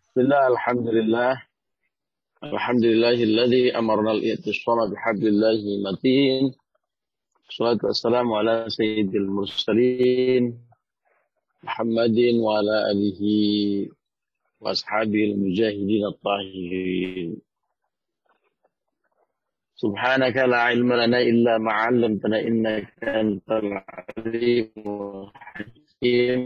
Bismillah, alhamdulillah. Alhamdulillahilladzi amarna al-i'tisama bihablillahi matin. Salatu wassalamu ala sayyidil mursalin. Muhammadin wa ala alihi wa ashabil mujahidin at-tahirin. Subhanaka la ilma lana illa ma'allamtana innaka antal alimul hakim.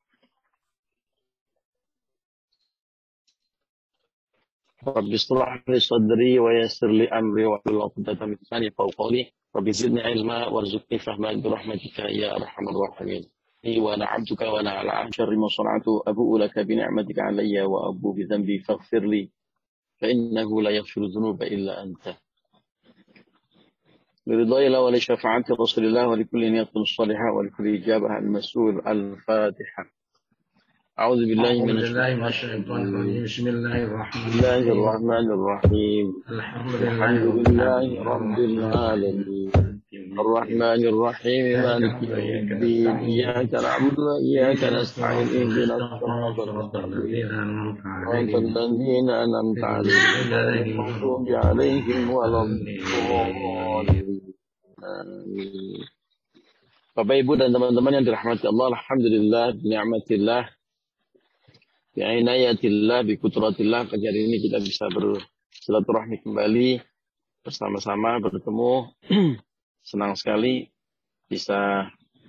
Rabbi shrah li sadri wa yassir li amri wa hlul 'uqdatam min lisani yafqahu qawli. Rabbi zidni ilma warzuqni fahma bi rahmatika ya arhamar rahimin. Wa na'abduka wa na'ala syarri ma sana'tu abu'u laka bi ni'matika 'alayya wa abu bi dhanbi faghfir li fa innahu la yaghfiru dhunuba illa anta. Liridai la wa li syafa'ati Rasulillah wa li kulli niyatin salihah wa li kulli ijabah al-mas'ul al-Fatihah. أعوذ بالله من الشيطان الرجيم. بسم الله الرحمن الرحيم. الحمد لله رب العالمين الرحمن الرحيم مالك يوم الدين إياك نعبد وإياك نستعين اهدنا الصراط المستقيم صراط الذين أنعمت عليهم غير المغضوب عليهم ولا الضالين. Bapak Ibu dan teman-teman yang dirahmati Allah, alhamdulillah, ni'matillah, bi'inayatillah, bikutratillah, pagi hari ini kita bisa bersilaturahmi kembali bersama-sama bertemu. Senang sekali bisa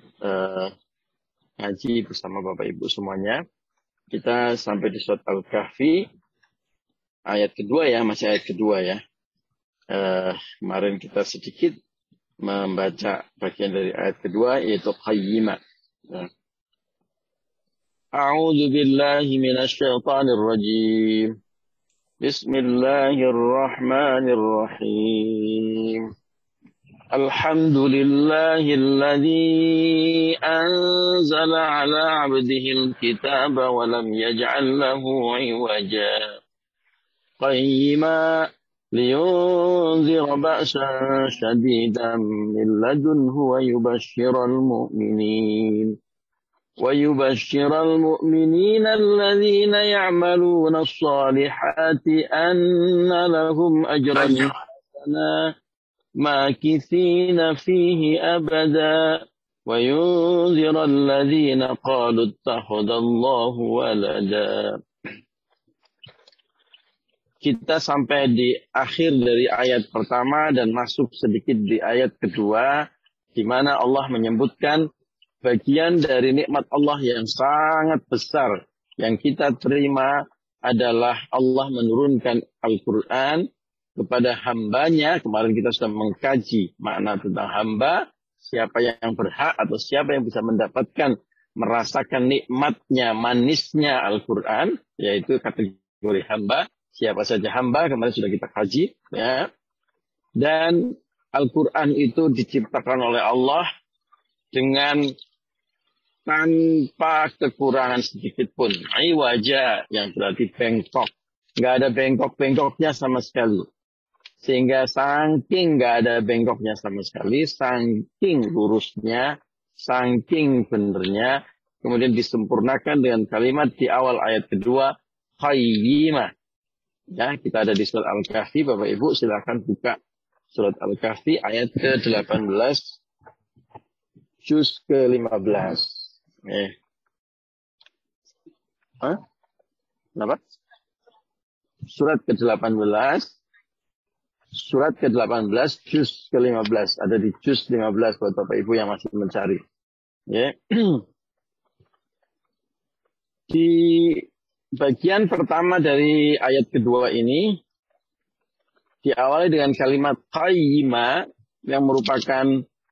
ngaji bersama Bapak Ibu semuanya. Kita sampai di surat Al-Kahfi ayat kedua ya, masih ayat kedua ya. Kemarin kita sedikit membaca bagian dari ayat kedua yaitu qayyimah. A'udzu billahi minasy syaithanir rajim. Bismillahirrahmanirrahim. Alhamdulillahilladzi anzala 'ala 'abdihil kitaba wa lam yaj'al lahu 'iwaja. Qayyima liyunzira ba'san shadidan min ladunhu ويبشر المؤمنين الذين يعملون الصالحات أن لهم أجرا حسنا ماكثين فيه أبدا وينذر الذين قالوا اتخذ الله ولدا. Kita sampai di akhir dari ayat pertama dan masuk sedikit di ayat kedua, di mana Allah menyebutkan bagian dari nikmat Allah yang sangat besar yang kita terima adalah Allah menurunkan Al-Quran kepada hambanya. Kemarin kita sudah mengkaji makna tentang hamba, siapa yang berhak atau siapa yang bisa mendapatkan, merasakan nikmatnya, manisnya Al-Quran, yaitu kategori hamba. Siapa saja hamba, kemarin sudah kita kaji. Ya. Dan Al-Quran itu diciptakan oleh Allah dengan tanpa kekurangan sedikit pun. Wajah yang berarti bengkok. Nggak ada bengkok-bengkoknya sama sekali. Sehingga saking nggak ada bengkoknya sama sekali, saking lurusnya, saking benernya, kemudian disempurnakan dengan kalimat di awal ayat kedua, qayyimah. Ya, kita ada di surat Al-Kahfi, Bapak Ibu silakan buka surat Al-Kahfi ayat ke-18, juz ke-15. Kenapa? Surat ke-18, juz ke-15. Ada di juz 15 buat Bapak Ibu yang masih mencari. Ya. Di bagian pertama dari ayat kedua ini diawali dengan kalimat qayyimah yang merupakan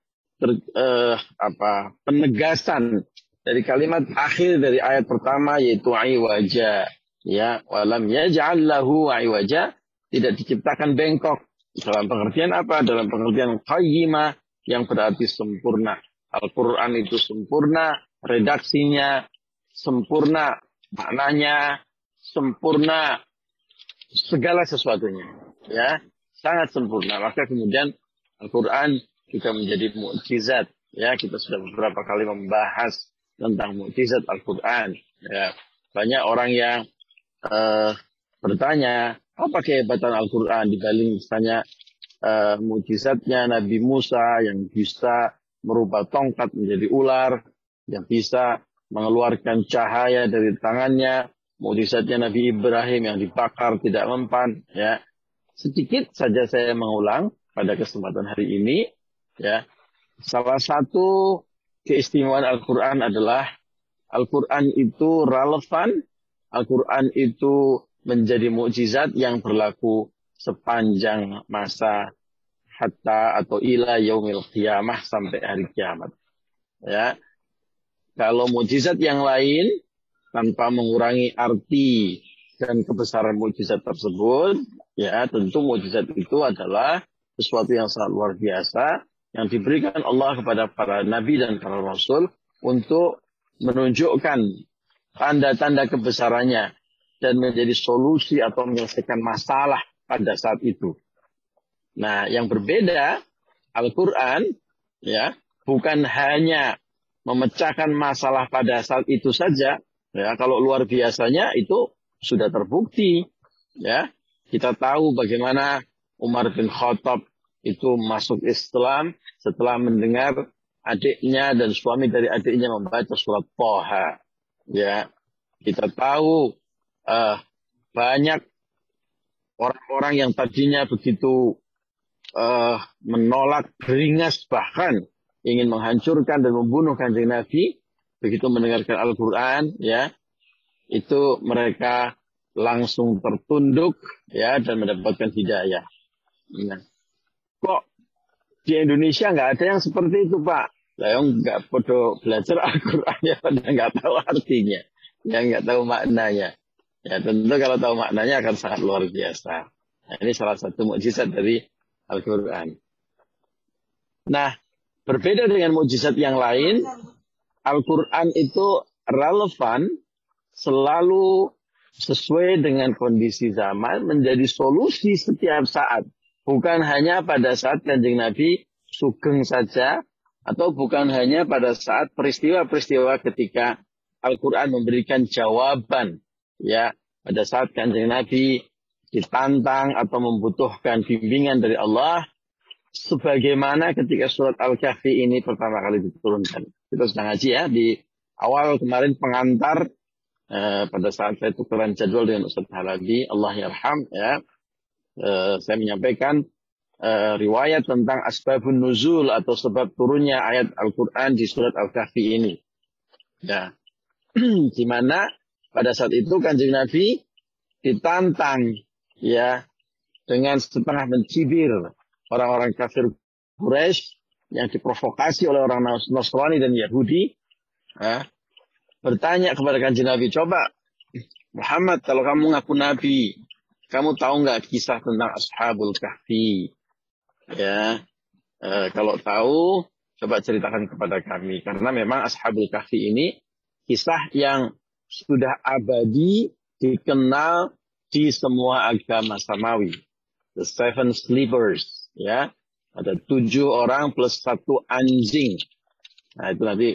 penegasan dari kalimat akhir dari ayat pertama yaitu iwaja, ya, walam yaj'al lahu iwaja, tidak diciptakan bengkok. Dalam pengertian apa? Dalam pengertian qayyimah yang berarti sempurna. Al-Qur'an itu sempurna, redaksinya sempurna, maknanya sempurna, segala sesuatunya, ya, sangat sempurna. Maka kemudian Al-Qur'an juga menjadi mukjizat. Ya, kita sudah beberapa kali membahas tentang mukjizat Al-Quran. Ya, banyak orang yang eh, bertanya, apa kehebatan Al-Quran dibanding misalnya mukjizatnya Nabi Musa yang bisa merubah tongkat menjadi ular, yang bisa mengeluarkan cahaya dari tangannya, mukjizatnya Nabi Ibrahim yang dibakar tidak mempan, ya. Sedikit saja saya mengulang pada kesempatan hari ini, ya. Salah satu keistimewaan Al-Quran adalah Al-Quran itu relevan, Al-Quran itu menjadi mukjizat yang berlaku sepanjang masa hatta atau ila yaumil qiyamah, sampai hari kiamat. Ya, kalau mukjizat yang lain tanpa mengurangi arti dan kebesaran mukjizat tersebut, ya tentu mukjizat itu adalah sesuatu yang sangat luar biasa yang diberikan Allah kepada para nabi dan para rasul untuk menunjukkan tanda-tanda kebesarannya dan menjadi solusi atau menyelesaikan masalah pada saat itu. Nah, yang berbeda Al-Quran, ya, bukan hanya memecahkan masalah pada saat itu saja. Ya, kalau luar biasanya itu sudah terbukti. Ya, kita tahu bagaimana Umar bin Khattab itu masuk Islam setelah mendengar adiknya dan suami dari adiknya membaca surat Thaha. Ya, kita tahu banyak orang-orang yang tadinya begitu menolak, beringas, bahkan ingin menghancurkan dan membunuh Kanjeng Nabi, begitu mendengarkan Al-Quran, ya, itu mereka langsung tertunduk, ya, dan mendapatkan hidayah. Nah, kok di Indonesia nggak ada yang seperti itu, Pak? Saya nggak perlu belajar Al-Quran, ya, padahal nggak tahu artinya, ya, nggak tahu maknanya. Ya, tentu kalau tahu maknanya akan sangat luar biasa. Nah, ini salah satu mukjizat dari Al-Quran. Nah, berbeda dengan mukjizat yang lain, Al-Quran itu relevan, selalu sesuai dengan kondisi zaman, menjadi solusi setiap saat. Bukan hanya pada saat Kanjeng Nabi sugeng saja, atau bukan hanya pada saat peristiwa-peristiwa ketika Al-Quran memberikan jawaban. Ya, pada saat Kanjeng Nabi ditantang atau membutuhkan bimbingan dari Allah, sebagaimana ketika surat Al-Kahfi ini pertama kali diturunkan. Kita sudah ngaji, ya, di awal kemarin pengantar, pada saat saya tukeran jadwal dengan Ustaz Halabi, Allah yarham, ya, saya menyampaikan riwayat tentang asbabun nuzul atau sebab turunnya ayat Al-Quran di surat Al-Kahfi ini. Ya, di mana pada saat itu Kanjeng Nabi ditantang, ya, dengan setengah mencibir orang-orang kafir Quraisy yang diprovokasi oleh orang Nasrani dan Yahudi, ya, bertanya kepada Kanjeng Nabi, coba Muhammad, kalau kamu ngaku Nabi, kamu tahu nggak kisah tentang Ashabul Kahfi? Ya, kalau tahu, coba ceritakan kepada kami, karena memang Ashabul Kahfi ini kisah yang sudah abadi, dikenal di semua agama samawi. The Seven Sleepers, ya, ada 7 orang plus 1 anjing. Nah, itu nanti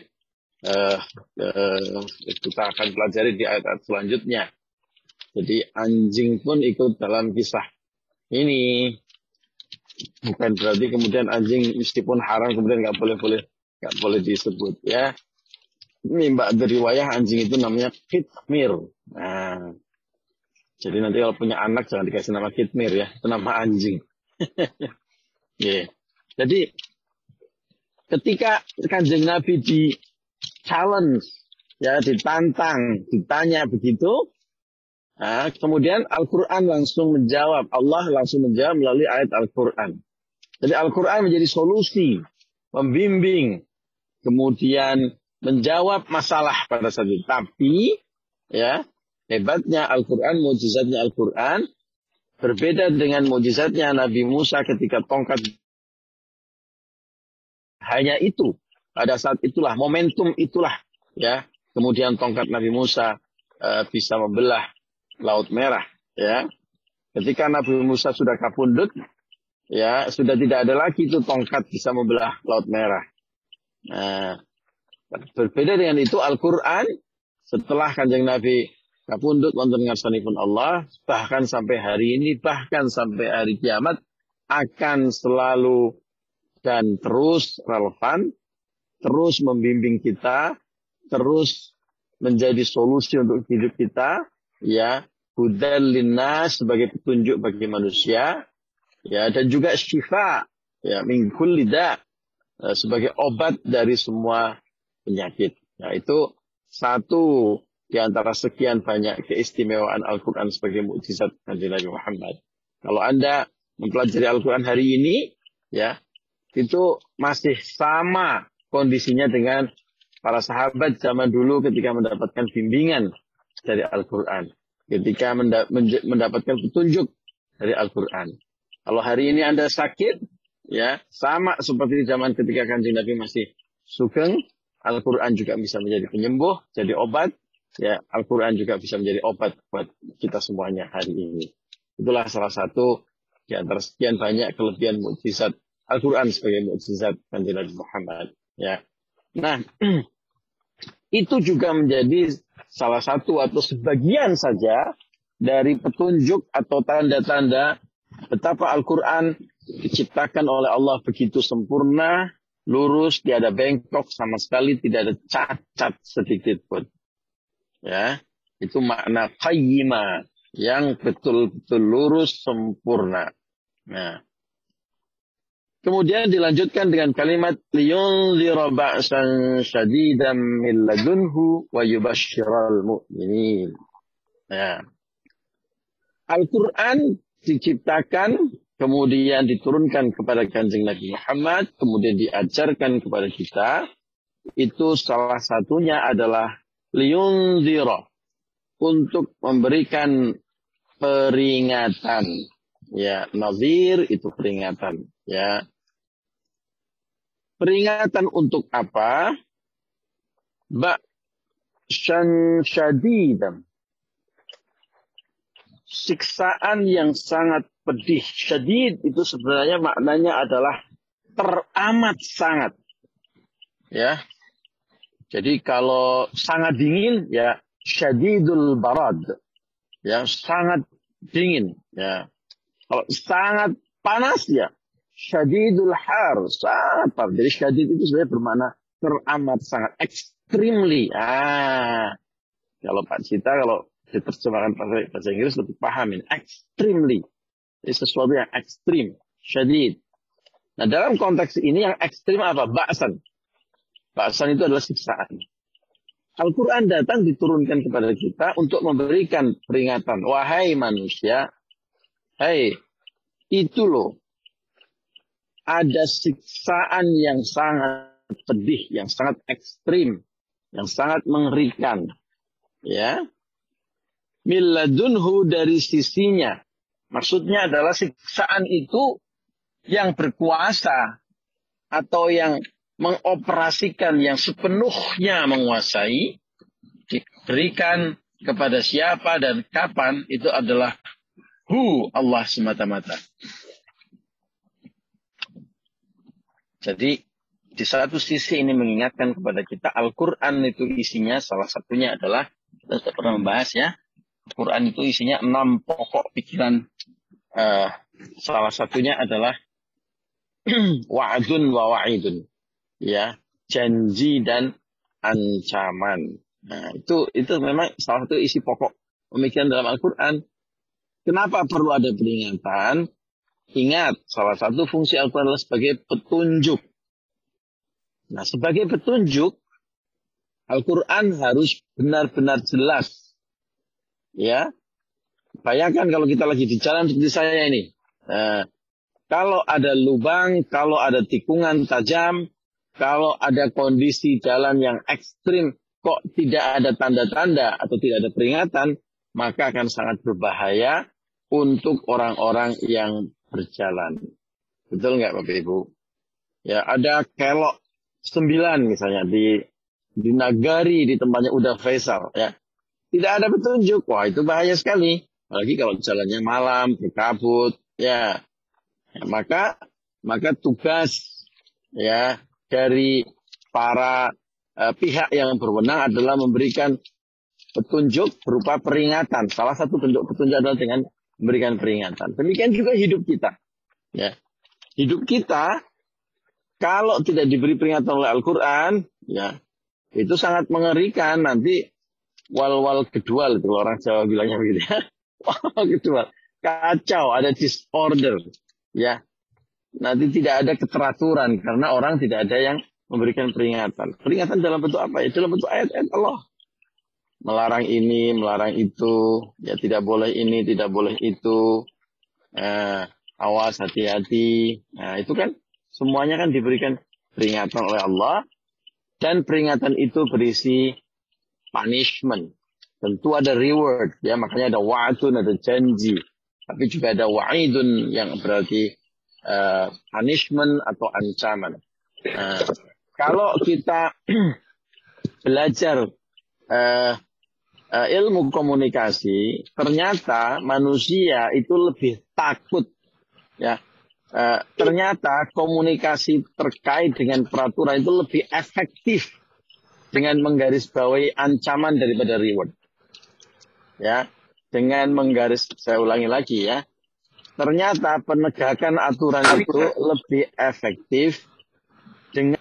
kita akan pelajari di ayat-ayat selanjutnya. Jadi anjing pun ikut dalam kisah ini. Bukan berarti kemudian anjing meskipun haram kemudian nggak boleh disebut, ya. Ini mbak dari riwayah anjing itu namanya Kitmir. Nah, jadi nanti kalau punya anak jangan dikasih nama Kitmir, ya, itu nama anjing. Yeah. Jadi ketika Kanjeng Nabi di challenge, ya, ditantang, ditanya begitu, nah, kemudian Al-Quran langsung menjawab, Allah langsung menjawab melalui ayat Al-Quran. Jadi Al-Quran menjadi solusi, membimbing, kemudian menjawab masalah pada saat itu. Tapi, ya, hebatnya Al-Quran, mukjizatnya Al-Quran, berbeda dengan mukjizatnya Nabi Musa ketika tongkat. Hanya itu, pada saat itulah, momentum itulah, ya, kemudian tongkat Nabi Musa bisa membelah Laut Merah, ya. Ketika Nabi Musa sudah kapundut, ya, sudah tidak ada lagi itu tongkat bisa membelah Laut Merah. Nah, berbeda dengan itu Al-Quran, setelah Kanjeng Nabi kapundhut wonten ngarsanipun Allah, bahkan sampai hari ini, bahkan sampai hari kiamat, akan selalu dan terus relevan, terus membimbing kita, terus menjadi solusi untuk hidup kita, ya, hudal linnas sebagai petunjuk bagi manusia, ya, dan juga syifa, ya, min kulli da, sebagai obat dari semua penyakit. Ya, itu satu di antara sekian banyak keistimewaan Al-Quran sebagai mukjizat Nabi Muhammad. Kalau Anda mempelajari Al-Quran hari ini, ya, itu masih sama kondisinya dengan para sahabat zaman dulu ketika mendapatkan bimbingan dari Al-Quran. Ketika mendapatkan petunjuk dari Al-Quran. Kalau hari ini Anda sakit, ya, sama seperti zaman ketika Kanjeng Nabi masih sugeng, Al-Quran juga bisa menjadi penyembuh, jadi obat. Ya, Al-Quran juga bisa menjadi obat buat kita semuanya hari ini. Itulah salah satu di antara sekian banyak kelebihan mukjizat Al-Quran sebagai mukjizat Kanjeng Nabi Muhammad. Ya. Nah, itu juga menjadi salah satu atau sebagian saja dari petunjuk atau tanda-tanda betapa Al-Quran diciptakan oleh Allah begitu sempurna, lurus, tiada bengkok sama sekali, tidak ada cacat sedikit pun. Ya, itu makna qayyimah, yang betul-betul lurus, sempurna. Nah, kemudian dilanjutkan dengan kalimat liyunzira ba'san syadidan min ladunhu wa yubashshiral mu'minin. Ya. Al-Quran diciptakan, kemudian diturunkan kepada Kanjeng Nabi Muhammad, kemudian diajarkan kepada kita. Itu salah satunya adalah liyunzira, untuk memberikan peringatan. Ya, nazir itu peringatan. Ya, peringatan untuk apa? Ba'san syadidan, siksaan yang sangat pedih. Syadid itu sebenarnya maknanya adalah teramat sangat. Ya. Jadi kalau sangat dingin, ya syadidul barad. Ya, sangat dingin. Ya. Kalau sangat panas, ya syadidul har, sangat panas. Jadi syadid itu sebenarnya bermakna teramat sangat, extremely. Kalau Pak Cita, kalau diterjemahkan bahasa Inggris lebih pahamin. Extremely. Ini sesuatu yang ekstrim. Syadid. Nah, dalam konteks ini yang ekstrim apa? Ba'san. Ba'san itu adalah siksaan. Al-Quran datang diturunkan kepada kita untuk memberikan peringatan. Wahai manusia, hei, itu loh, ada siksaan yang sangat pedih, yang sangat ekstrim, yang sangat mengerikan. Ya, milladunhu, dari sisinya. Maksudnya adalah siksaan itu yang berkuasa atau yang mengoperasikan, yang sepenuhnya menguasai, diberikan kepada siapa dan kapan, itu adalah Allah semata-mata. Jadi di satu sisi ini mengingatkan kepada kita Al-Quran itu isinya salah satunya adalah, kita sudah pernah membahas ya, Al-Quran itu isinya 6 pokok pikiran. Salah satunya adalah wa'adun wa wa'idun, ya, janji dan ancaman. Nah, itu memang salah satu isi pokok pemikiran dalam Al-Quran. Kenapa perlu ada peringatan? Ingat, salah satu fungsi Al-Quran adalah sebagai petunjuk. Nah, sebagai petunjuk, Al-Quran harus benar-benar jelas. Ya, bayangkan kalau kita lagi di jalan seperti saya ini. Kalau ada lubang, kalau ada tikungan tajam, kalau ada kondisi jalan yang ekstrim, kok tidak ada tanda-tanda atau tidak ada peringatan, maka akan sangat berbahaya untuk orang-orang yang berjalan. Betul nggak Bapak Ibu? Ya, ada kelok 9 misalnya di Nagari, di tempatnya Uda Faisal. Ya, tidak ada petunjuk. Wah, itu bahaya sekali. Apalagi kalau jalannya malam, berkabut. Ya, maka tugas ya dari para pihak yang berwenang adalah memberikan petunjuk berupa peringatan. Salah satu bentuk petunjuk adalah dengan memberikan peringatan. Demikian juga hidup kita. Ya. Hidup kita kalau tidak diberi peringatan oleh Al-Quran, ya itu sangat mengerikan. Nanti wal-wal kedua, itu orang Jawa bilangnya begitu ya. Wal kedua, kacau, ada disorder, ya. Nanti tidak ada keteraturan karena orang tidak ada yang memberikan peringatan. Peringatan dalam bentuk apa? Ya, dalam bentuk ayat-ayat Allah. Melarang ini, melarang itu, ya tidak boleh ini, tidak boleh itu. Awas, hati-hati. Nah, itu kan semuanya kan diberikan peringatan oleh Allah. Dan peringatan itu berisi punishment. Tentu ada reward, ya, makanya ada wa'adun, ada janji. Tapi juga ada wa'idun yang berarti punishment atau ancaman. Kalau kita belajar ilmu komunikasi, ternyata manusia itu lebih takut, ya. Ternyata komunikasi terkait dengan peraturan itu lebih efektif dengan menggarisbawahi ancaman daripada reward. Ya, dengan saya ulangi lagi ya. Ternyata penegakan aturan itu lebih efektif dengan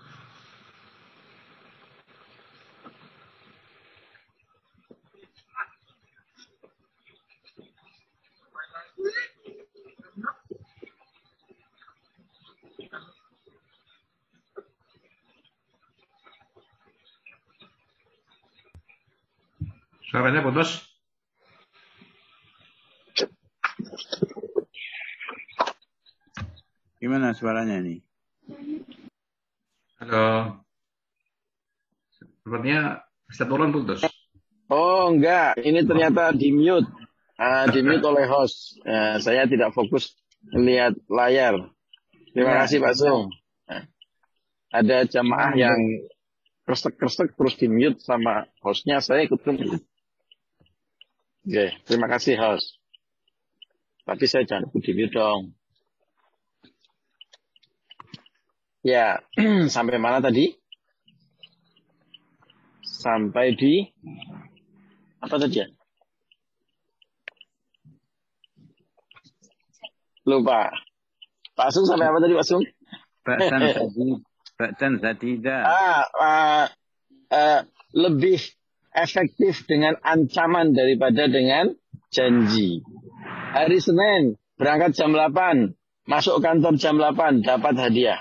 Suaranya putus. Gimana suaranya ini? Halo. Sepertinya bisa turun putus. Oh enggak, ini ternyata di mute. Di mute oleh host. Saya tidak fokus melihat layar. Terima kasih Pak Sung. Ada jamaah yang kresek-kresek terus di mute sama hostnya, saya ikut mute. Oke, terima kasih host. Tapi saya jangan ikut di mute dong. Ya, sampai mana tadi? Sampai di apa tadi ya? Lupa. Pak Sung sampai apa tadi Pak Sung? Ba'dan sadida. Lebih efektif dengan ancaman daripada dengan janji. Hari Senin berangkat jam 8, masuk kantor jam 8, dapat hadiah.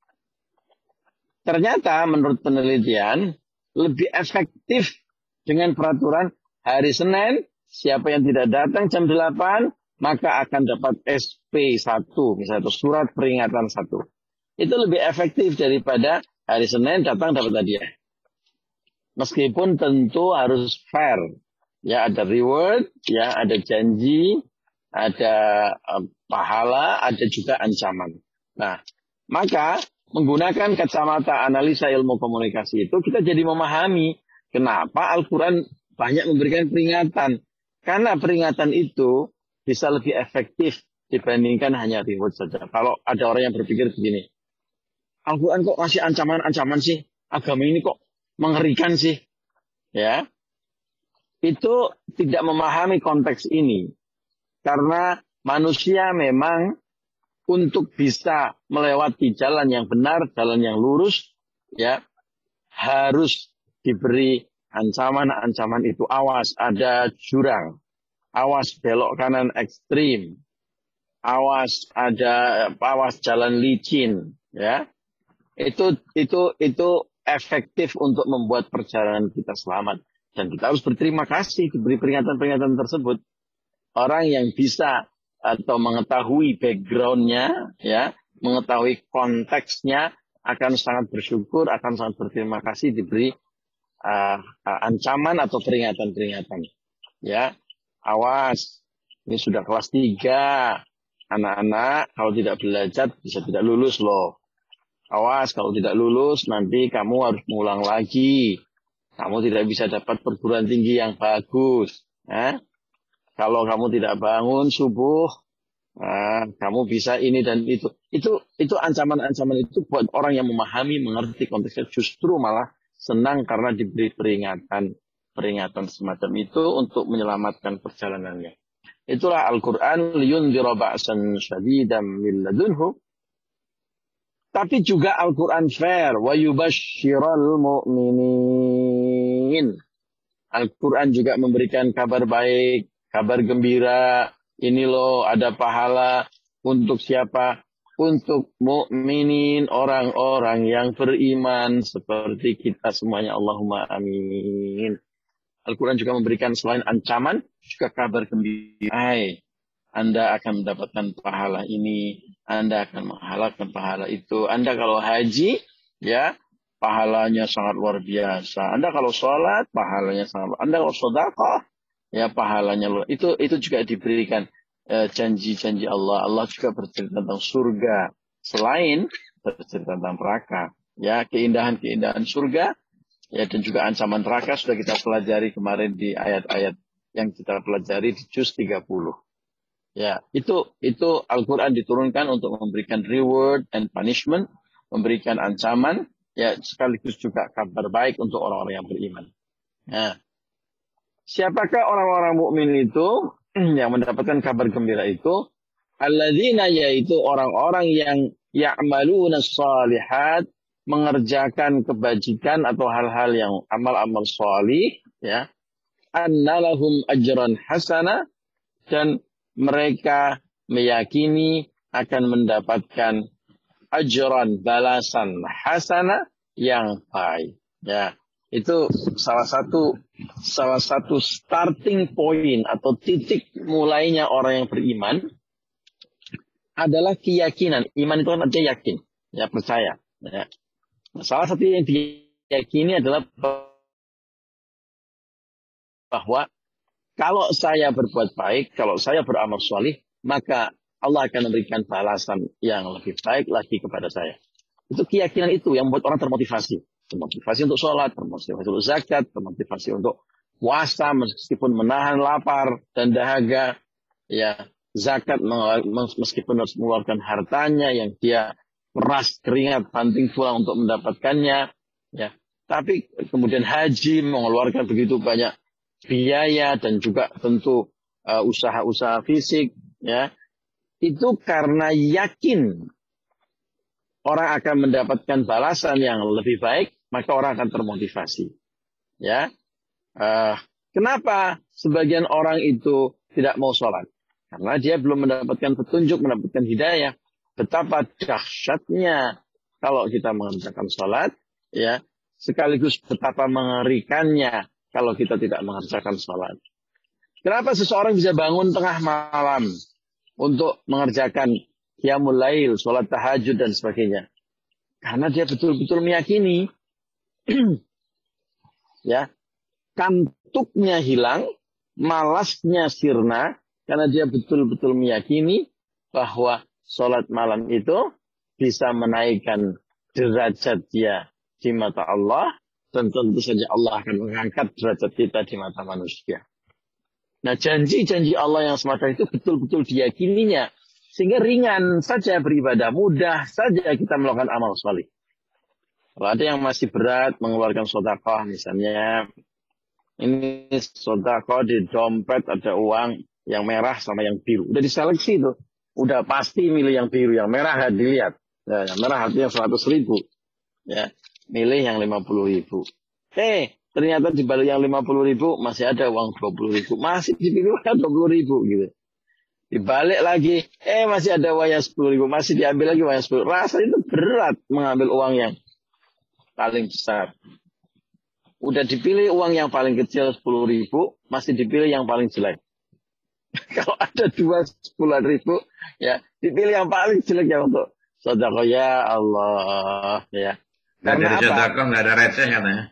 Ternyata menurut penelitian lebih efektif dengan peraturan hari Senin, siapa yang tidak datang jam 8, maka akan dapat SP1, misalnya itu surat peringatan 1. Itu lebih efektif daripada hari Senin datang dapat hadiah. Meskipun tentu harus fair. Ya, ada reward, ya, ada janji, ada pahala, ada juga ancaman. Nah, maka menggunakan kacamata analisa ilmu komunikasi itu kita jadi memahami kenapa Al-Quran banyak memberikan peringatan. Karena peringatan itu bisa lebih efektif dibandingkan hanya reward saja. Kalau ada orang yang berpikir begini, Al-Quran kok masih ancaman-ancaman sih? Agama ini kok mengerikan sih? Ya, itu tidak memahami konteks ini. Karena manusia memang untuk bisa melewati jalan yang benar, jalan yang lurus, ya, harus diberi ancaman-ancaman itu. Awas, ada jurang. Awas, belok kanan ekstrim. Awas, jalan licin, ya. Itu efektif untuk membuat perjalanan kita selamat. Dan kita harus berterima kasih diberi peringatan-peringatan tersebut. Orang yang bisa atau mengetahui background-nya, ya, mengetahui konteksnya, akan sangat bersyukur, akan sangat berterima kasih diberi ancaman atau peringatan-peringatan. Ya, awas, ini sudah kelas 3. Anak-anak kalau tidak belajar bisa tidak lulus loh. Awas, kalau tidak lulus nanti kamu harus mengulang lagi. Kamu tidak bisa dapat perguruan tinggi yang bagus. Kalau kamu tidak bangun subuh, kamu bisa ini dan itu. Itu ancaman-ancaman itu buat orang yang memahami, mengerti konteksnya, justru malah senang karena diberi peringatan. peringatan semacam itu untuk menyelamatkan perjalanannya. Itulah Al-Quran liyundhira ba'san syadidan min ladunhu. Tapi juga Al-Quran fair wa yubashshiral mu'minin. Al-Quran juga memberikan kabar baik, kabar gembira. Ini loh ada pahala untuk siapa? Untuk mukminin, orang-orang yang beriman seperti kita semuanya. Allahumma amin. Al-Quran juga memberikan selain ancaman, juga kabar gembira. Hai, Anda akan mendapatkan pahala ini, Anda akan menghalalkan pahala itu. Anda kalau haji, ya, pahalanya sangat luar biasa. Anda kalau sholat, pahalanya sangat luar biasa. Anda kalau sedekah, ya pahalanya luar biasa. Itu juga diberikan janji-janji Allah. Allah juga bercerita tentang surga. Selain bercerita tentang neraka. Ya, keindahan-keindahan surga. Ya, dan juga ancaman neraka sudah kita pelajari kemarin di ayat-ayat yang kita pelajari di juz 30. Ya, itu Al-Quran diturunkan untuk memberikan reward and punishment, memberikan ancaman, ya sekaligus juga kabar baik untuk orang-orang yang beriman. Nah, siapakah orang-orang mukmin itu yang mendapatkan kabar gembira itu? Alladzina, yaitu orang-orang yang ya'maluna shalihat, mengerjakan kebajikan atau hal-hal yang amal-amal shalih, ya. Annalahum ajran hasana, dan mereka meyakini akan mendapatkan ajran, balasan hasana yang baik, ya. Itu salah satu starting point atau titik mulainya orang yang beriman adalah keyakinan. Iman itu kan artinya yakin, ya, percaya, ya. Salah satu yang diyakini adalah bahwa kalau saya berbuat baik, kalau saya beramal sholih, maka Allah akan memberikan balasan yang lebih baik lagi kepada saya. Itu keyakinan itu yang membuat orang termotivasi. Termotivasi untuk sholat, termotivasi untuk zakat, termotivasi untuk puasa meskipun menahan lapar dan dahaga. Ya, zakat meskipun harus mengeluarkan hartanya yang dia keras keringat banting tulang untuk mendapatkannya, ya. Tapi kemudian haji mengeluarkan begitu banyak biaya dan juga tentu usaha-usaha fisik, ya. Itu karena yakin orang akan mendapatkan balasan yang lebih baik, maka orang akan termotivasi, ya. Kenapa sebagian orang itu tidak mau sholat? Karena dia belum mendapatkan petunjuk, mendapatkan hidayah. Betapa dahsyatnya kalau kita mengerjakan sholat, ya, sekaligus betapa mengerikannya kalau kita tidak mengerjakan sholat. Kenapa seseorang bisa bangun tengah malam untuk mengerjakan qiyamul lail, sholat tahajud dan sebagainya? Karena dia betul-betul meyakini, ya, kantuknya hilang, malasnya sirna, karena dia betul-betul meyakini bahwa sholat malam itu bisa menaikkan derajat dia di mata Allah, dan tentu saja Allah akan mengangkat derajat kita di mata manusia. Nah, janji-janji Allah yang semacam itu betul-betul diyakininya, sehingga ringan saja beribadah, mudah saja kita melakukan amal saleh. Kalau ada yang masih berat mengeluarkan sedekah misalnya, ini sedekah di dompet ada uang yang merah sama yang biru, udah diseleksi tuh. Udah pasti milih yang biru, yang merah nggak dilihat. Ya, yang merah artinya 100.000. Ya, milih yang 50.000. Ternyata di balik yang 50.000 masih ada uang 20.000. Masih dipilih uang 20.000 gitu. Dibalik lagi, masih ada uang yang 10.000. Masih diambil lagi uang yang 10.000. Rasa itu berat mengambil uang yang paling besar. Udah dipilih uang yang paling kecil 10.000, masih dipilih yang paling jelek. Kalau ada 10.000, ya dipilih yang paling jelek ya untuk sedekah, ya Allah, ya. Karena dari sedekah nggak ada receh katanya.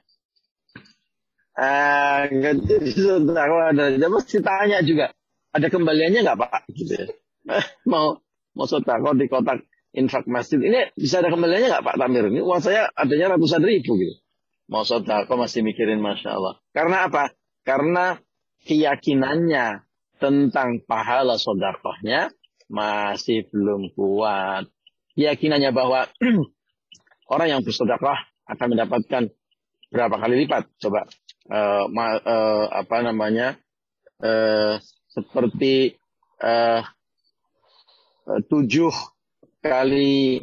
Nggak jadi sedekah ada, dia mesti tanya juga, ada kembaliannya nggak Pak? Gitu ya. mau sedekah di kotak infak masjid ini bisa ada kembaliannya nggak Pak Tamir? Ini uang saya adanya ratusan ribu gitu. Mau sedekah masih mikirin, masya Allah. Karena apa? Karena keyakinannya tentang pahala sedekahnya masih belum kuat. Keyakinannya bahwa orang yang bersedekah akan mendapatkan berapa kali lipat? Coba apa namanya, seperti 7 kali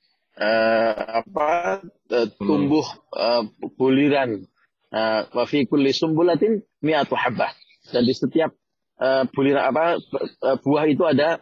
tumbuh buliran, wa fi kulli sumbulatin mi'atu habbah, dan di setiap buliran buah itu ada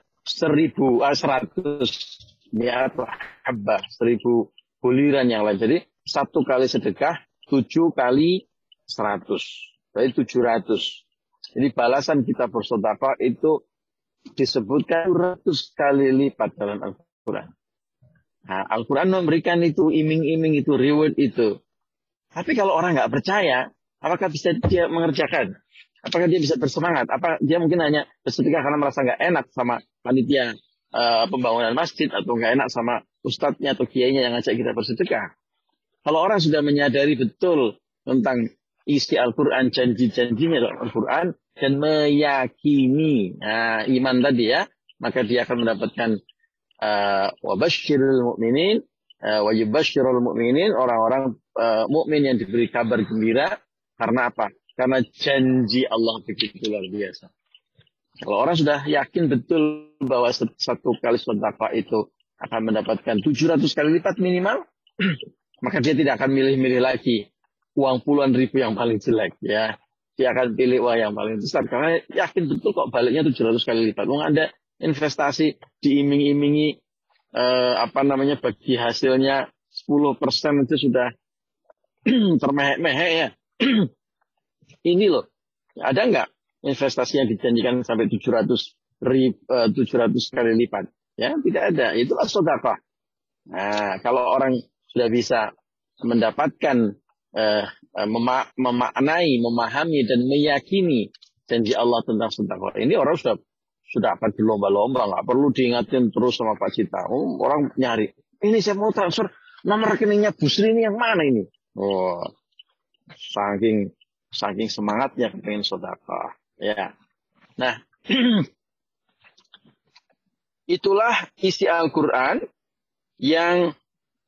100 mi'atu habbah, 1000 buliran yang lain. Jadi 1 kali sedekah 7 kali 100, berarti 700. Jadi balasan kita bersedekah itu disebutkan 100 kali lipat dalam Al-Quran. Nah, Al-Quran memberikan itu, iming-iming itu, reward itu. Tapi kalau orang nggak percaya, apakah bisa dia mengerjakan? Apakah dia bisa bersemangat? Apa dia mungkin hanya bersedekah karena merasa nggak enak sama panitia pembangunan masjid, atau nggak enak sama ustadznya atau kiainya yang ngajak kita bersedekah? Kalau orang sudah menyadari betul tentang isi Al-Quran, janji-janjinya dalam Al-Quran, dan meyakini iman tadi ya, maka dia akan mendapatkan wabashirul mu'minin, wajibashirul mu'minin, orang-orang mukmin yang diberi kabar gembira. Karena apa? Karena janji Allah begitu luar biasa. Kalau orang sudah yakin betul bahwa 1 kali sedekah itu akan mendapatkan 700 kali lipat minimal, maka dia tidak akan milih-milih lagi uang puluhan ribu yang paling jelek ya. Dia akan pilih uang yang paling besar karena yakin betul kok baliknya 700 kali lipat. Ada investasi diiming-imingi bagi hasilnya 10% itu sudah termehek-mehek ya. Ini loh, ada nggak investasi yang dijanjikan sampai 700 kali lipat? Ya, tidak ada. Itulah sedekah. Nah, kalau orang sudah bisa mendapatkan memaknai, memahami dan meyakini janji Allah tentang sedekah, ini orang sudah akan berlomba-lomba, nggak perlu diingatin terus sama Pak Cita. Orang nyari, ini saya mau transfer nomor rekeningnya Bu Sri ini yang mana ini? Saking semangatnya pengen sedekah. Ya. Nah, itulah isi Al-Quran yang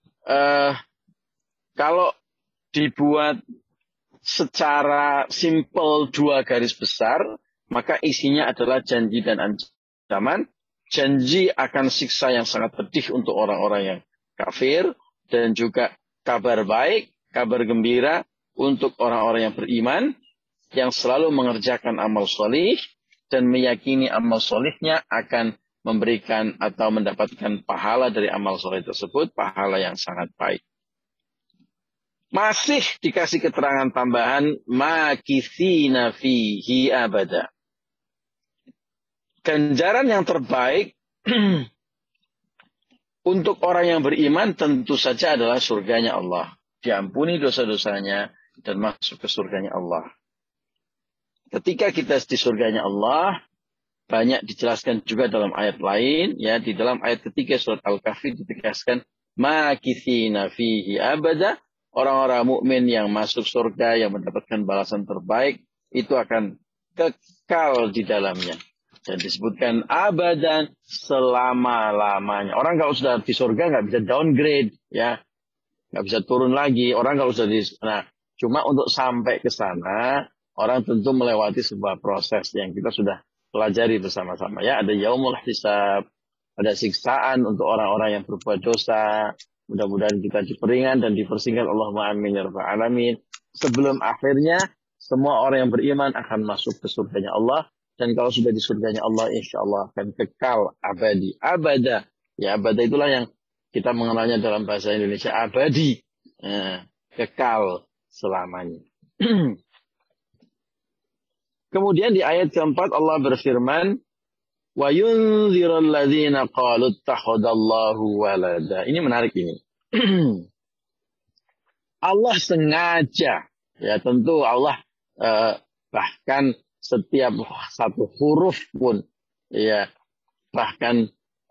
kalau dibuat secara simpel 2 garis besar, maka isinya adalah janji dan ancaman. Janji akan siksa yang sangat pedih untuk orang-orang yang kafir, dan juga kabar baik, kabar gembira untuk orang-orang yang beriman, yang selalu mengerjakan amal solih dan meyakini amal solihnya akan memberikan atau mendapatkan pahala dari amal solih tersebut, pahala yang sangat baik. Masih dikasih keterangan tambahan, makithina fihi abada. Ganjaran yang terbaik untuk orang yang beriman tentu saja adalah surganya Allah. Diampuni dosa-dosanya dan masuk ke surganya Allah. Ketika kita di surganya Allah, banyak dijelaskan juga dalam ayat lain. Ya, di dalam ayat ketiga surat Al-Kahfi ditegaskan, makithina fihi abada. Orang-orang mukmin yang masuk surga, yang mendapatkan balasan terbaik, itu akan kekal di dalamnya. Dan disebutkan abadan, selama-lamanya. Orang kalau sudah di surga nggak bisa downgrade, ya, nggak bisa turun lagi. Orang kalau sudah cuma untuk sampai ke sana, orang tentu melewati sebuah proses yang kita sudah pelajari bersama-sama. Ya, ada yaumul hisab, ada siksaan untuk orang-orang yang berbuat dosa. Mudah-mudahan kita diperingan dan dipersingkat. Allahumma amin ya rabbal alamin. Sebelum akhirnya semua orang yang beriman akan masuk ke surganya Allah. Dan kalau sudah di surganya Allah, insya Allah akan kekal abadi. Abada. Ya, abada itulah yang kita mengenalnya dalam bahasa Indonesia, abadi. Kekal selamanya. Kemudian di ayat keempat Allah berfirman, wa yunzirul ladzina qalu ittakhadallahu walada. Ini menarik ini. Allah sengaja, ya tentu Allah bahkan setiap satu huruf pun, ya bahkan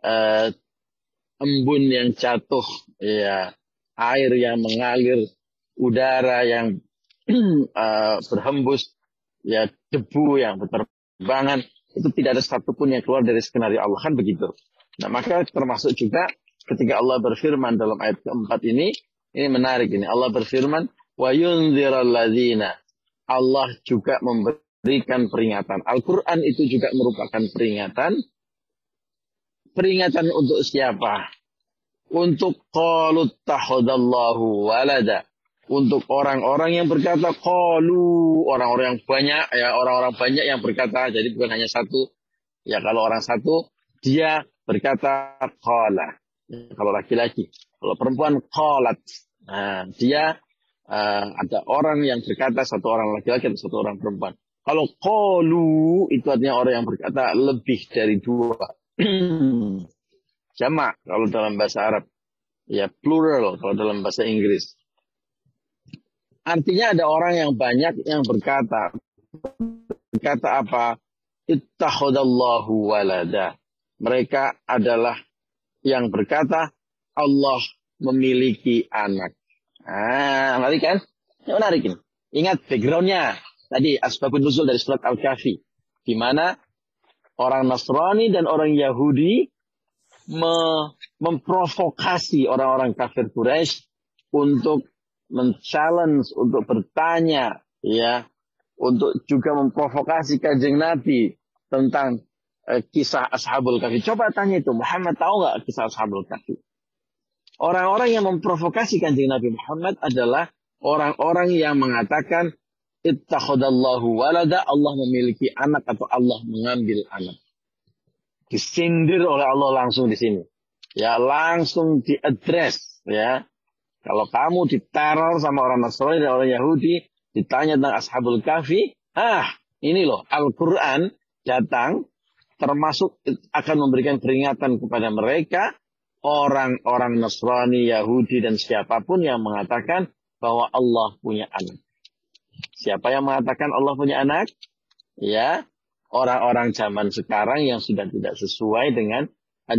embun yang jatuh, ya air yang mengalir, udara yang berhembus, ya debu yang berterbangan, itu tidak ada satupun yang keluar dari skenario Allah, kan begitu. Nah, maka termasuk juga ketika Allah berfirman dalam ayat keempat ini menarik ini. Allah berfirman, wa yunziral ladzina Allah juga memberikan peringatan. Al-Quran itu juga merupakan peringatan. Peringatan untuk siapa? Untuk qalu takhadallahu walada. Untuk orang-orang yang berkata qalu, orang-orang yang banyak, ya orang-orang banyak yang berkata, jadi bukan hanya satu. Ya kalau orang satu, dia berkata qala. Ya, kalau laki-laki, kalau perempuan qalat. Nah, dia ada orang yang berkata, satu orang laki-laki atau satu orang perempuan. Kalau qalu itu artinya orang yang berkata lebih dari dua. Jamak kalau dalam bahasa Arab. Ya plural kalau dalam bahasa Inggris. Artinya ada orang yang banyak yang berkata. Berkata apa? Ittakhadallahu walada. Mereka adalah yang berkata Allah memiliki anak. Ah, menarik kan? Ini menarik ini. Ingat backgroundnya. Tadi asbabun nuzul dari surat Al-Kahfi. Di mana orang Nasrani dan orang Yahudi memprovokasi orang-orang kafir Quraisy untuk men-challenge, untuk bertanya, ya, untuk juga memprovokasi Kanjeng Nabi tentang kisah Ashabul Kahfi. Coba tanya itu, Muhammad tahu nggak kisah Ashabul Kahfi? Orang-orang yang memprovokasi Kanjeng Nabi Muhammad adalah orang-orang yang mengatakan ittakhadallahu walada, Allah memiliki anak atau Allah mengambil anak. Disindir oleh Allah langsung di sini. Ya, langsung diadres, ya. Kalau kamu diteror sama orang Nasrani dan orang Yahudi, ditanya tentang Ashabul Kahfi, ini loh, Al-Quran datang termasuk akan memberikan peringatan kepada mereka, orang-orang Nasrani, Yahudi, dan siapapun yang mengatakan bahwa Allah punya anak. Siapa yang mengatakan Allah punya anak? Ya, orang-orang zaman sekarang yang sudah tidak sesuai dengan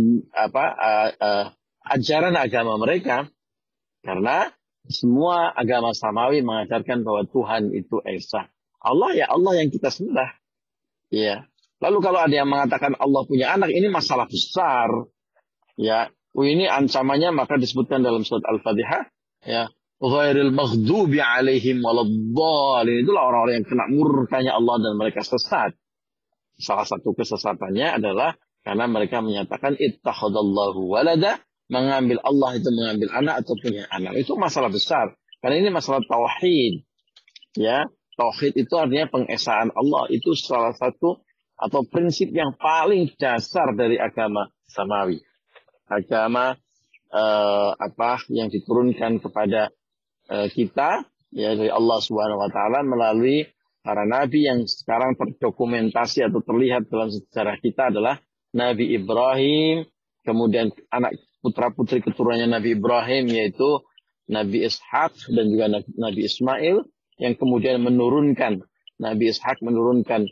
ajaran agama mereka. Karena semua agama samawi mengajarkan bahwa Tuhan itu esa. Allah ya Allah yang kita sembah. Ya. Lalu kalau ada yang mengatakan Allah punya anak, ini masalah besar. Ya, ini ancamannya maka disebutkan dalam surat Al-Fatihah. Ya. Ghairil maghdubi alaihim waladhdallin. Itulah orang-orang yang kena murkanya Allah dan mereka sesat. Salah satu kesesatannya adalah karena mereka menyatakan ittakhadallahu walada, mengambil Allah itu mengambil anak atau punya anak. Itu masalah besar. Karena ini masalah tauhid. Ya, tauhid itu artinya pengesaan Allah. Itu salah satu atau prinsip yang paling dasar dari agama samawi. Agama yang diturunkan kepada kita ya dari Allah Subhanahu wa taala melalui para nabi yang sekarang terdokumentasi atau terlihat dalam sejarah kita adalah Nabi Ibrahim, kemudian anak putra-putri keturunannya Nabi Ibrahim yaitu Nabi Ishak dan juga Nabi Ismail yang kemudian menurunkan Nabi Ishak menurunkan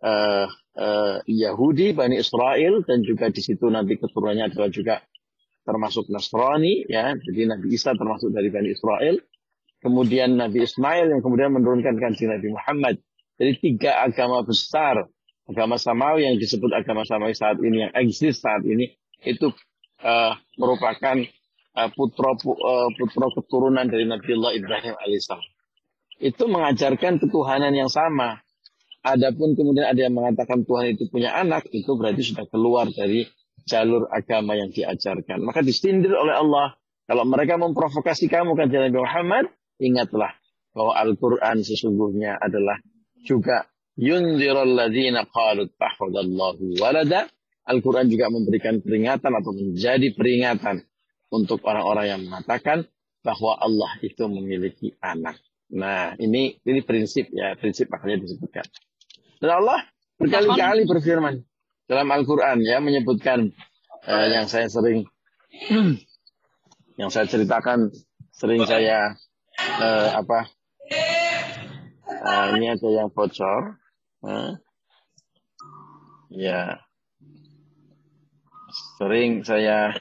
Yahudi, Bani Israel, dan juga di situ Nabi keturunannya adalah juga termasuk Nasrani, ya. Jadi Nabi Isa termasuk dari Bani Israel. Kemudian Nabi Ismail yang kemudian menurunkan Kanjeng Nabi Muhammad. Jadi 3 agama besar, agama samawi yang disebut agama samawi saat ini, yang eksis saat ini, itu merupakan putra keturunan dari Nabiullah Ibrahim alaihissalam. Itu mengajarkan ketuhanan yang sama. Adapun kemudian ada yang mengatakan Tuhan itu punya anak, itu berarti sudah keluar dari jalur agama yang diajarkan. Maka disindir oleh Allah. Kalau mereka memprovokasi kamu kan Nabi Muhammad, ingatlah bahwa Al-Quran sesungguhnya adalah juga yunzirul ladzina qalu ittakhadallahu walada. Al-Quran juga memberikan peringatan atau menjadi peringatan untuk orang-orang yang mengatakan bahwa Allah itu memiliki anak. Nah, ini prinsip ya, prinsip makanya disebutkan. Dan Allah berkali-kali berfirman dalam Al-Quran ya menyebutkan yang saya ceritakan, sering saya ini ada yang bocor, ya sering saya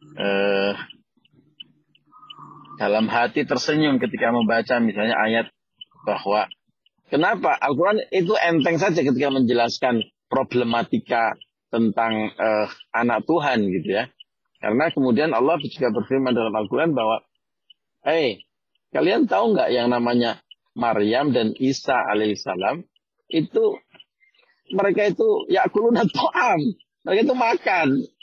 dalam hati tersenyum ketika membaca misalnya ayat bahwa kenapa Al-Quran itu enteng saja ketika menjelaskan problematika tentang anak Tuhan gitu ya. Karena kemudian Allah juga berfirman dalam Al-Quran bahwa kalian tahu nggak yang namanya Maryam dan Isa alaihissalam itu mereka itu yakuluna ta'am. Mereka itu makan.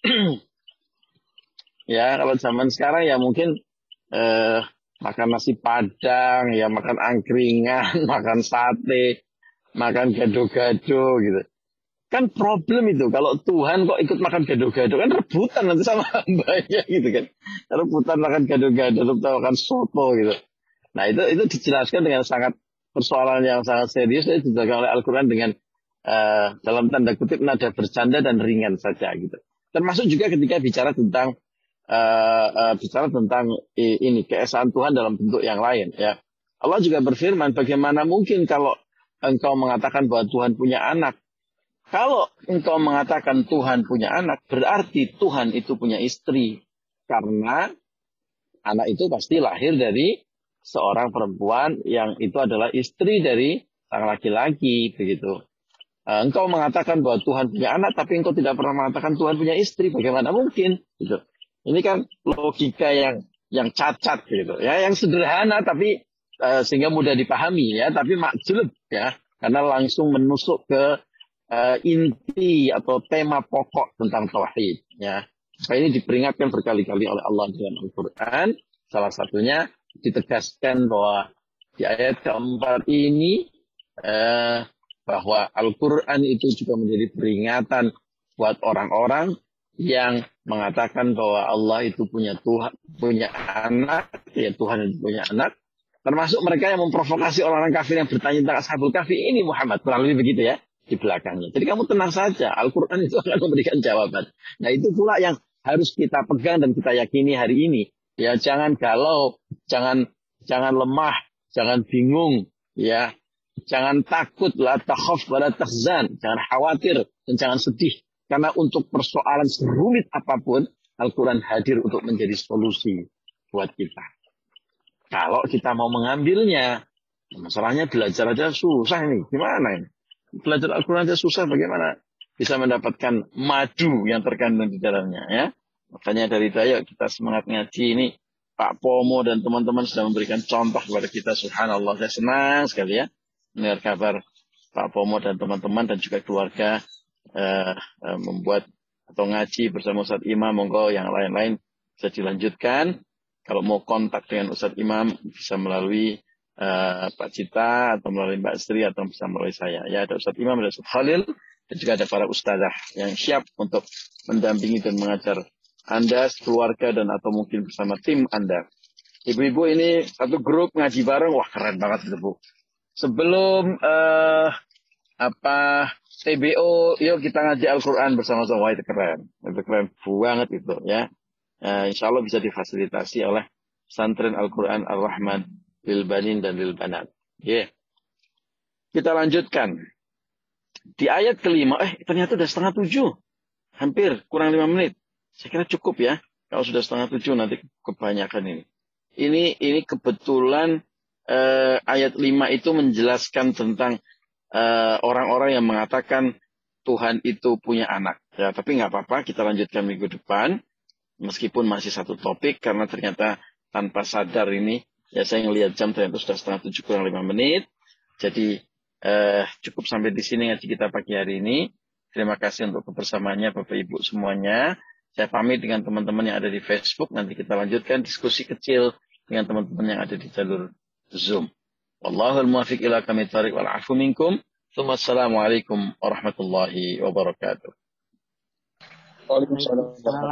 Ya, kalau zaman sekarang ya mungkin makan nasi padang, ya makan angkringan, makan sate, makan gado-gado gitu. Kan problem itu kalau Tuhan kok ikut makan gado-gado, kan rebutan nanti sama hambanya gitu kan. Rebutan makan gado-gado, rebutan makan soto gitu. Nah itu dijelaskan dengan sangat persoalan yang sangat serius, itu dijelaskan oleh Al-Quran dengan dalam tanda kutip nada bercanda dan ringan saja gitu. Termasuk juga ketika bicara tentang ini keesaan Tuhan dalam bentuk yang lain ya. Allah juga berfirman, bagaimana mungkin kalau engkau mengatakan bahwa Tuhan punya anak. Kalau engkau mengatakan Tuhan punya anak, berarti Tuhan itu punya istri. Karena anak itu pasti lahir dari seorang perempuan yang itu adalah istri dari sang laki-laki, begitu. Engkau mengatakan bahwa Tuhan punya anak, tapi engkau tidak pernah mengatakan Tuhan punya istri. Bagaimana mungkin? Gitu. Ini kan logika yang cacat, gitu. Ya, yang sederhana, tapi sehingga mudah dipahami, ya. Tapi makjub, ya, karena langsung menusuk ke inti atau tema pokok tentang tauhid, ya. Ini diperingatkan berkali-kali oleh Allah dalam Al-Quran. Salah satunya ditegaskan bahwa di ayat keempat ini bahwa Al-Quran itu juga menjadi peringatan buat orang-orang yang mengatakan bahwa Allah itu punya Tuhan, punya anak, ya Tuhan itu punya anak. Termasuk mereka yang memprovokasi orang-orang kafir yang bertanya tentang Ashabul Kahfi ini Muhammad, kurang lebih begitu ya. Di belakangnya. Jadi kamu tenang saja, Al-Quran itu akan memberikan jawaban. Nah itu pula yang harus kita pegang dan kita yakini hari ini. Ya jangan galau, jangan lemah, jangan bingung, ya jangan takut, la takhaf wa la tahzan, jangan khawatir dan jangan sedih. Karena untuk persoalan serumit apapun, Al-Quran hadir untuk menjadi solusi buat kita. Kalau kita mau mengambilnya, masalahnya belajar aja susah ini, gimana ini? Belajar Al-Quran aja susah, bagaimana bisa mendapatkan madu yang terkandung di dalamnya, ya. Makanya dari Dayak kita semangat ngaji ini, Pak Pomo dan teman-teman sudah memberikan contoh kepada kita, subhanallah. Saya senang sekali ya mendengar kabar Pak Pomo dan teman-teman dan juga keluarga membuat atau ngaji bersama Ustadz Imam. Monggo yang lain-lain bisa dilanjutkan. Kalau mau kontak dengan Ustadz Imam bisa melalui Pak Cita atau melalui Mbak Sri atau bisa melalui saya. Ya, ada Ustadz Imam, ada Ustadz Khalil, dan juga ada para ustadzah yang siap untuk mendampingi dan mengajar Anda, keluarga, dan atau mungkin bersama tim Anda. Ibu-ibu ini satu grup ngaji bareng, wah keren banget itu Bu. Sebelum TBO, yuk kita ngaji Al-Quran bersama-sama. Wah itu keren banget itu ya. Insya Allah bisa difasilitasi oleh Pesantren Al-Quran Ar-Rahman lil banin dan lil banat. Yeah. Kita lanjutkan. Di ayat kelima, ternyata udah 6:30. Hampir, kurang 5 menit. Saya kira cukup ya. Kalau sudah 6:30 nanti kebanyakan ini. Ini kebetulan ayat 5 itu menjelaskan tentang orang-orang yang mengatakan Tuhan itu punya anak. Ya, tapi nggak apa-apa, kita lanjutkan minggu depan. Meskipun masih satu topik, karena ternyata tanpa sadar ini, ya saya ngelihat jam ternyata sudah 6:30 kurang 5 menit. Jadi cukup sampai di sini ngaji kita pagi hari ini. Terima kasih untuk kebersamaannya Bapak Ibu semuanya. Saya pamit dengan teman-teman yang ada di Facebook. Nanti kita lanjutkan diskusi kecil dengan teman-teman yang ada di jalur Zoom. Wallahul muwaffiq ila aqwamit thoriq wal 'afu minkum. Wassalamualaikum warahmatullahi wabarakatuh. Waalaikumsalam.